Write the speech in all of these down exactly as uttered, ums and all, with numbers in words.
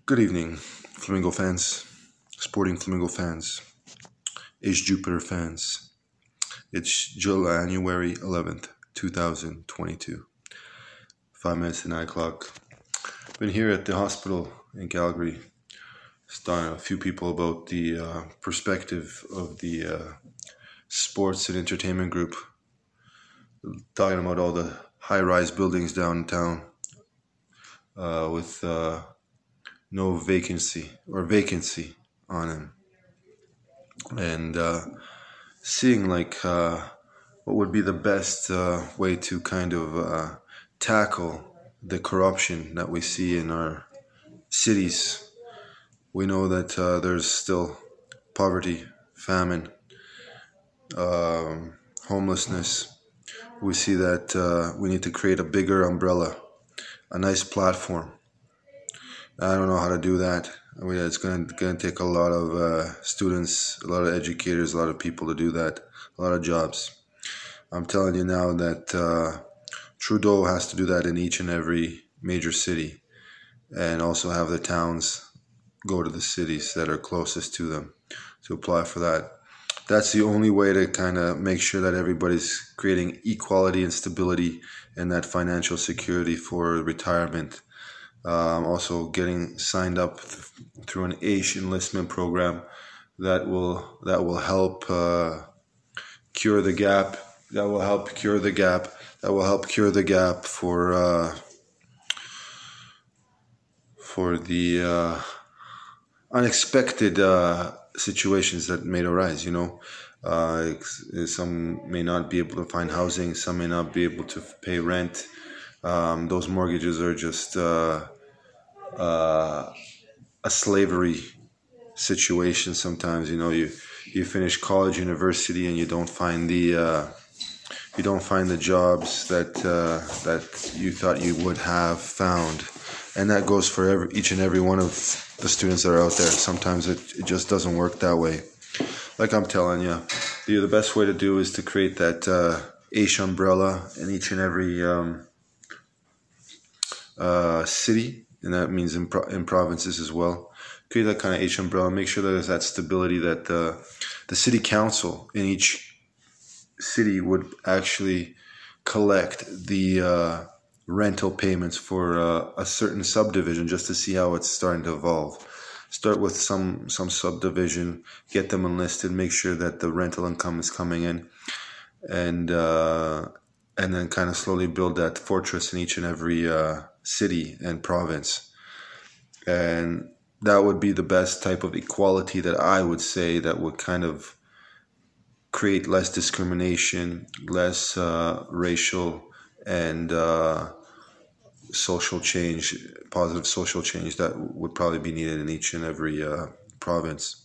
Good evening, Flamingo fans, Sporting Flamingo fans, H Jupiter fans. It's January eleventh, twenty twenty-two. Five minutes to nine o'clock. Been here at the hospital in Calgary, talking to a few people about the uh, perspective of the uh, sports and entertainment group. Talking about all the high-rise buildings downtown uh, with uh, no vacancy or vacancy on them. And uh, seeing like uh, what would be the best uh, way to kind of uh, tackle the corruption that we see in our cities. We know that uh, there's still poverty, famine, um, homelessness. We see that uh, we need to create a bigger umbrella, a nice platform. I don't know how to do that. I mean, it's going to take a lot of uh, students, a lot of educators, a lot of people to do that, a lot of jobs. I'm telling you now that uh, Trudeau has to do that in each and every major city, and also have the towns go to the cities that are closest to them to apply for that. That's the only way to kind of make sure that everybody's creating equality and stability and that financial security for retirement. Um, also getting signed up th- through an A I S H enlistment program that will that will help uh, cure the gap. That will help cure the gap. That will help cure the gap for uh, for the uh, unexpected uh, situations that may arise. You know, uh, some may not be able to find housing. Some may not be able to pay rent. Um, those mortgages are just uh, uh, a slavery situation. Sometimes, you know, you you finish college, university, and you don't find the uh, you don't find the jobs that uh, that you thought you would have found, and that goes for every, each and every one of the students that are out there. Sometimes it, it just doesn't work that way. Like I'm telling you, the the best way to do is to create that uh, A I S H umbrella in each and every um, uh, city, and that means in, pro- in provinces as well. Create that kind of A I S H umbrella. Make sure that there's that stability that the the city council in each city would actually collect the uh, rental payments for uh, a certain subdivision just to see how it's starting to evolve. Start with some some subdivision, get them enlisted, make sure that the rental income is coming in, and uh, and then kind of slowly build that fortress in each and every uh, city and province. And that would be the best type of equality that I would say that would kind of create less discrimination, less uh, racial and uh, social change, positive social change that would probably be needed in each and every uh, province.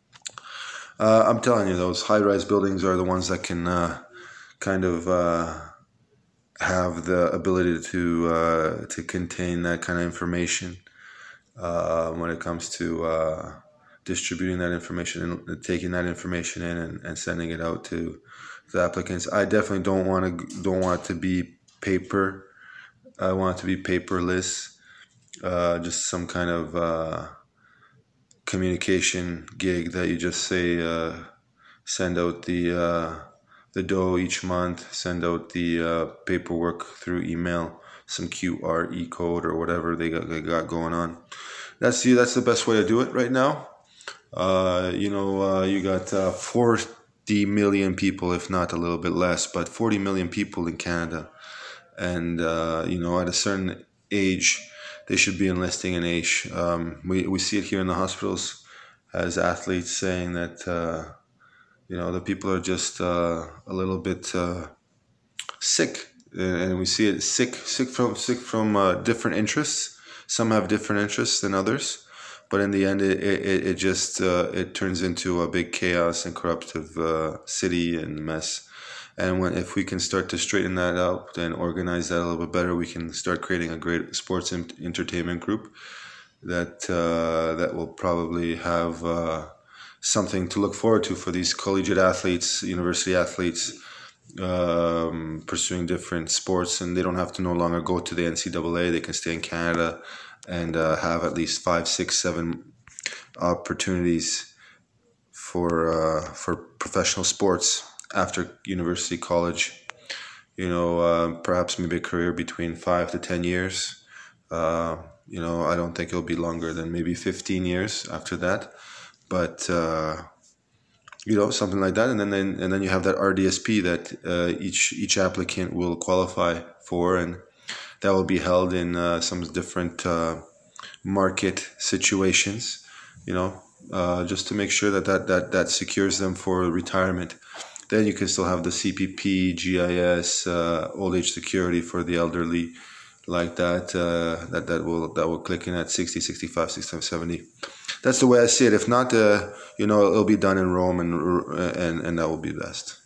Uh, I'm telling you, those high-rise buildings are the ones that can uh, kind of uh, have the ability to uh, to contain that kind of information uh, when it comes to uh, distributing that information and taking that information in and, and sending it out to the applicants. I definitely don't want to don't want it to be paper. I want it to be paperless, uh, just some kind of uh, communication gig that you just say, uh, send out the uh, the dough each month, send out the uh, paperwork through email, some Q R E code or whatever they got, they got going on. That's the that's the best way to do it right now. Uh, you know, uh, you got uh, forty million people, if not a little bit less, but forty million people in Canada. And, uh, you know, at a certain age, they should be enlisting in A I S H. Um, we, we see it here in the hospitals as athletes saying that, uh, you know, the people are just uh, a little bit uh, sick. And we see it sick, sick from, sick from uh, different interests. Some have different interests than others. But in the end, it it, it just uh, it turns into a big chaos and corruptive uh, city and mess. And when if we can start to straighten that out and organize that a little bit better, we can start creating a great sports and entertainment group that uh, that will probably have uh, something to look forward to for these collegiate athletes, university athletes, um, pursuing different sports, and they don't have to no longer go to the N C double A. They can stay in Canada and uh, have at least five, six, seven opportunities for uh, for professional sports after university, college. You know, uh, perhaps maybe a career between five to ten years. Uh, you know, I don't think it'll be longer than maybe fifteen years after that. But uh, you know, something like that, and then, then and then you have that R D S P that uh, each each applicant will qualify for, and that will be held in uh, some different uh, market situations. You know, uh, just to make sure that that that that secures them for retirement. Then you can still have the C P P, G I S, uh, old age security for the elderly, like that. Uh, that that will that will click in at sixty, sixty-five, sixty-seven, seventy. That's the way I see it. If not, uh, you know, it'll be done in Rome, and and and that will be best.